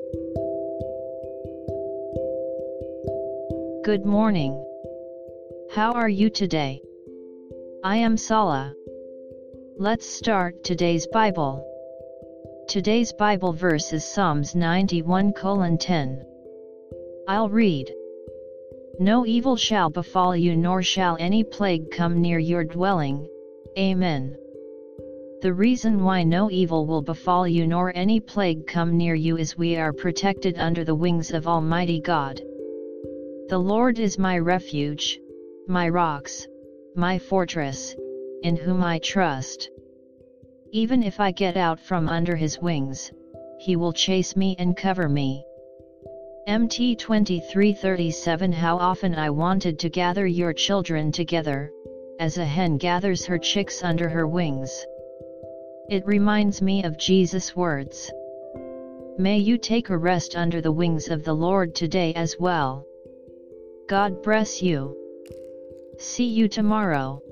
Good morning. How are you today? I am Sala. Let's start today's Bible. Today's Bible verse is Psalms 91:10. I'll read. No evil shall befall you, nor shall any plague come near your dwelling. Amen. The reason why no evil will befall you nor any plague come near you is we are protected under the wings of Almighty God. The Lord is my refuge, my rocks, my fortress, in whom I trust. Even if I get out from under his wings, he will chase me and cover me. MT 23:37. How often I wanted to gather your children together, as a hen gathers her chicks under her wings. It reminds me of Jesus' words. May you take a rest under the wings of the Lord today as well. God bless you. See you tomorrow.